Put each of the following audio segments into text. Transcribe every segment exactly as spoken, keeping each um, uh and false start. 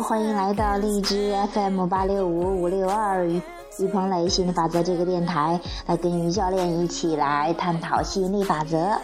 欢迎来到荔枝 F M 八六五五六二于鹏雷吸引力法则这个电台，来跟于教练一起来探讨吸引力法则。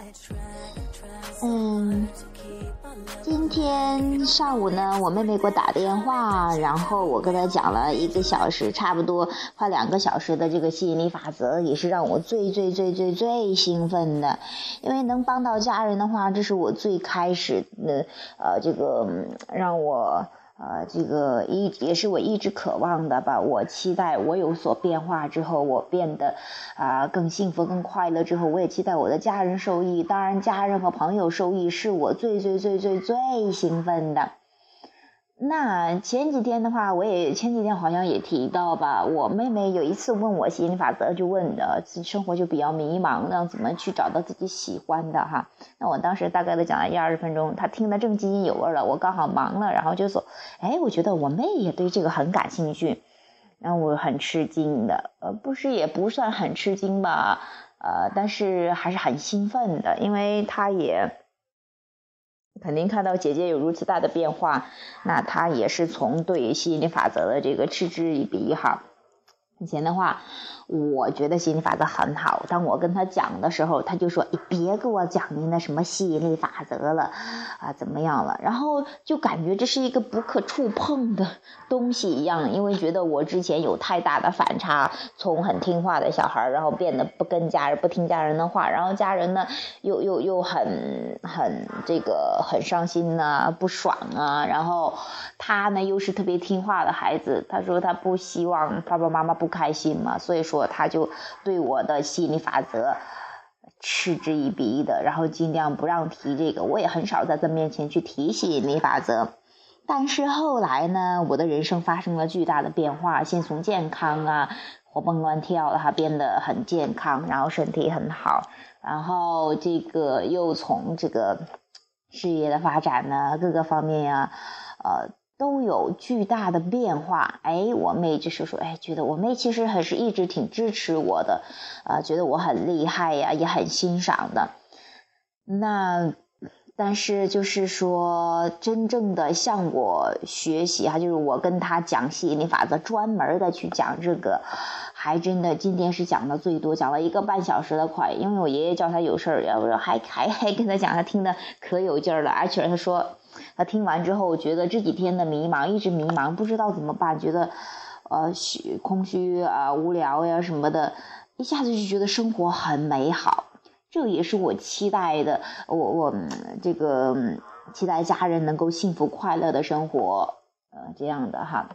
嗯，今天上午呢，我妹妹给我打电话，然后我跟她讲了一个小时，差不多快两个小时的这个吸引力法则，也是让我最最最最最兴奋的，因为能帮到家人的话，这是我最开始的呃这个让我呃这个一也是我一直渴望的吧。我期待我有所变化之后，我变得啊、呃、更幸福更快乐之后，我也期待我的家人受益，当然家人和朋友受益是我最最最最最兴奋的。那前几天的话，我也前几天好像也提到吧，我妹妹有一次问我吸引力法则，就问的生活就比较迷茫，让怎么去找到自己喜欢的哈。那我当时大概的讲了一二十分钟，她听得正津津有味了，我刚好忙了，然后就说，哎，我觉得我妹也对这个很感兴趣，让我很吃惊的，呃，不是也不算很吃惊吧，呃，但是还是很兴奋的，因为她也肯定看到姐姐有如此大的变化，那她也是从对吸引力法则的这个嗤之以鼻哈。以前的话，我觉得吸引力法则很好，当我跟她讲的时候，她就说，你别给我讲你那什么吸引力法则了啊，怎么样了，然后就感觉这是一个不可触碰的东西一样，因为觉得我之前有太大的反差，从很听话的小孩，然后变得不跟家人不听家人的话，然后家人呢又又又很很这个很伤心啊，不爽啊，然后他呢又是特别听话的孩子，他说他不希望爸爸妈妈不开心嘛，所以说他就对我的吸引力法则嗤之以鼻的，然后尽量不让提这个，我也很少在他面前去提吸引力法则。但是后来呢，我的人生发生了巨大的变化，先从健康啊活蹦乱跳的，他变得很健康，然后身体很好，然后这个又从这个事业的发展呢各个方面呀、啊、呃都有巨大的变化。哎，我妹就是说，哎，觉得我妹其实还是一直挺支持我的，啊、呃，觉得我很厉害呀，也很欣赏的。那但是就是说，真正的向我学习哈，就是我跟她讲吸引力法则，专门的去讲这个，还真的今天是讲的最多，讲了一个半小时的快，因为我爷爷叫他有事儿，要不还还还跟他讲，他听得可有劲儿了，而且他说。他听完之后觉得这几天的迷茫，一直迷茫不知道怎么办，觉得呃虚空虚啊、无聊呀什么的，一下子就觉得生活很美好，这也是我期待的，我我这个期待家人能够幸福快乐的生活，呃这样的哈。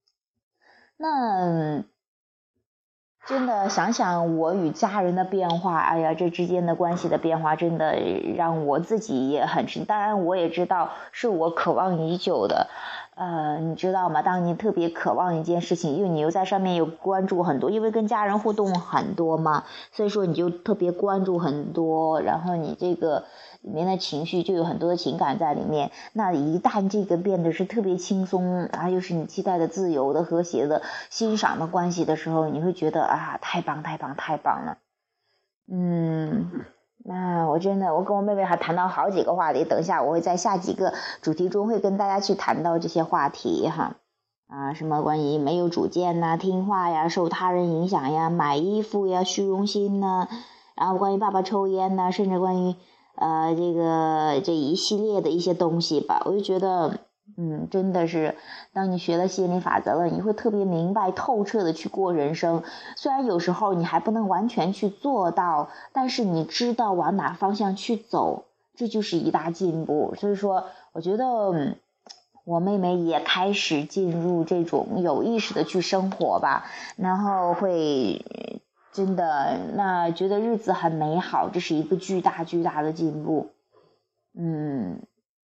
那真的想想我与家人的变化，哎呀，这之间的关系的变化真的让我自己也很深，当然我也知道是我渴望已久的，呃，你知道吗？当你特别渴望一件事情，因为你又在上面有关注很多，因为跟家人互动很多嘛，所以说你就特别关注很多，然后你这个里面的情绪就有很多的情感在里面。那一旦这个变得是特别轻松啊，又是你期待的自由的和谐的欣赏的关系的时候，你会觉得啊，太棒太棒太棒了。嗯，那我真的我跟我妹妹还谈到好几个话题，等一下我会在下几个主题中会跟大家去谈到这些话题哈。啊，什么关于没有主见呐、听话呀、受他人影响呀、买衣服呀、虚荣心呐，然后关于爸爸抽烟呐，甚至关于呃这个这一系列的一些东西吧，我就觉得嗯，真的是当你学了吸引力法则了，你会特别明白透彻的去过人生，虽然有时候你还不能完全去做到，但是你知道往哪方向去走，这就是一大进步。所以说我觉得、嗯、我妹妹也开始进入这种有意识的去生活吧，然后会真的那觉得日子很美好，这是一个巨大巨大的进步。嗯，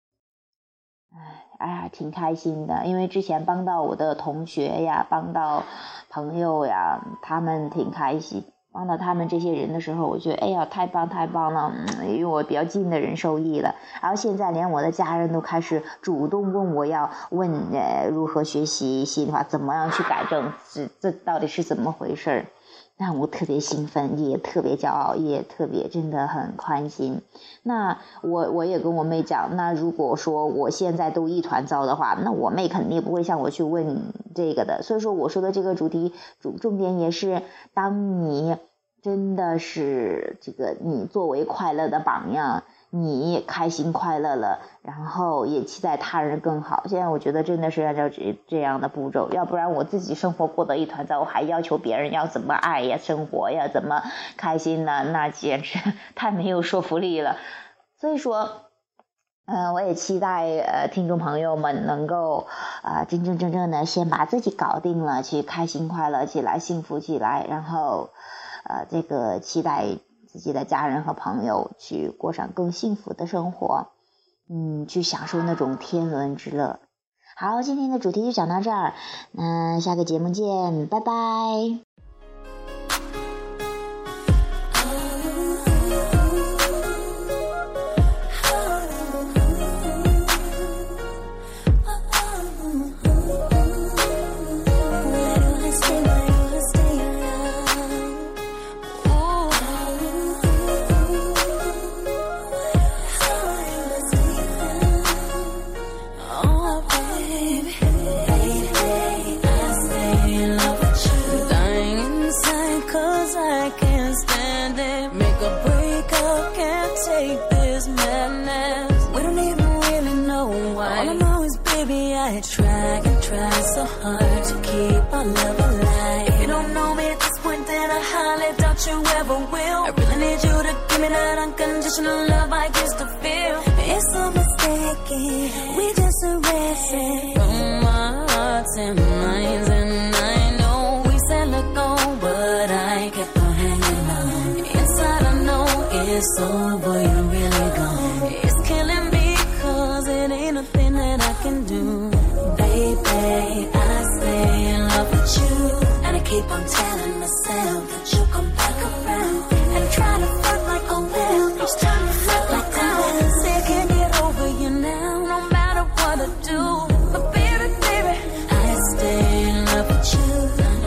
哎呀，挺开心的，因为之前帮到我的同学呀，帮到朋友呀，他们挺开心。帮到他们这些人的时候，我觉得哎呀，太棒太棒了，嗯，因为我比较近的人受益了。然后现在连我的家人都开始主动问我要问呃如何学习吸引力法，怎么样去改正，这这到底是怎么回事？ 让我特别兴奋，也特别骄傲，也特别真的很宽心。那我我也跟我妹讲，那如果说我现在都一团糟的话，那我妹肯定不会向我去问这个的。所以说我说的这个主题主重点也是，当你真的是这个你作为快乐的榜样，你开心快乐了，然后也期待他人更好。现在我觉得真的是按照这这样的步骤，要不然我自己生活过得一团糟，我还要求别人要怎么爱呀、生活呀、怎么开心呢？那简直太没有说服力了。所以说，嗯、呃，我也期待呃听众朋友们能够啊、呃、真真正正的先把自己搞定了，去开心快乐起来，幸福起来，然后呃这个期待自己的家人和朋友去过上更幸福的生活，嗯，去享受那种天伦之乐。好，今天的主题就讲到这儿，那下个节目见，拜拜。 I try and try so hard to keep our love alive. If you don't know me at this point, then I highly doubt you ever will. I really need you to give me that unconditional love I used to feel. It's so mistaken, we just erase it from our hearts and minds. And I know we said let go, but I kept on hanging on. Inside I know it's over, you're really gone. It's killing me cause it ain't nothing that I can do. Baby, I stay in love with you, and I keep on telling myself that you'll come back around. And I try to fuck like a whale, each time you flip like down. Say I can't get over you now, no matter what I do. But baby, baby, I stay in love with you.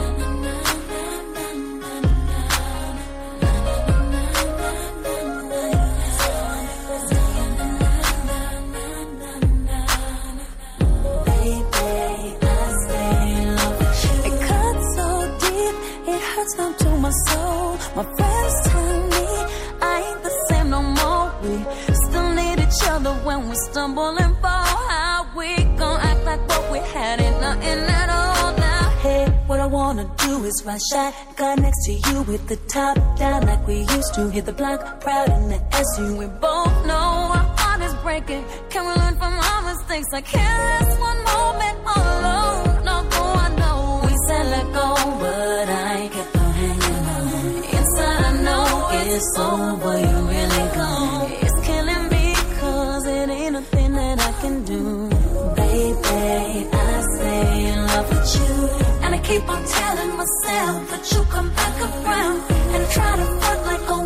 Down to my soul. My friends tell me I ain't the same no more. We still need each other when we stumble and fall. How we gon' act like what we had ain't nothing at all now? Hey, what I wanna do is ride shotgun next to you with the top down like we used to. Hit the block proud in the S U. We both know our heart is breaking. Can we learn from our mistakes? I can't last one moment all alone. No, go, I know we said let go, but I kept on hanging on. Inside I know it's over, you're really gone. It's killing me cause it ain't nothing that I can do. Baby, I stay in love with you, and I keep on telling myself that you'll come back around. And I try to fuck like a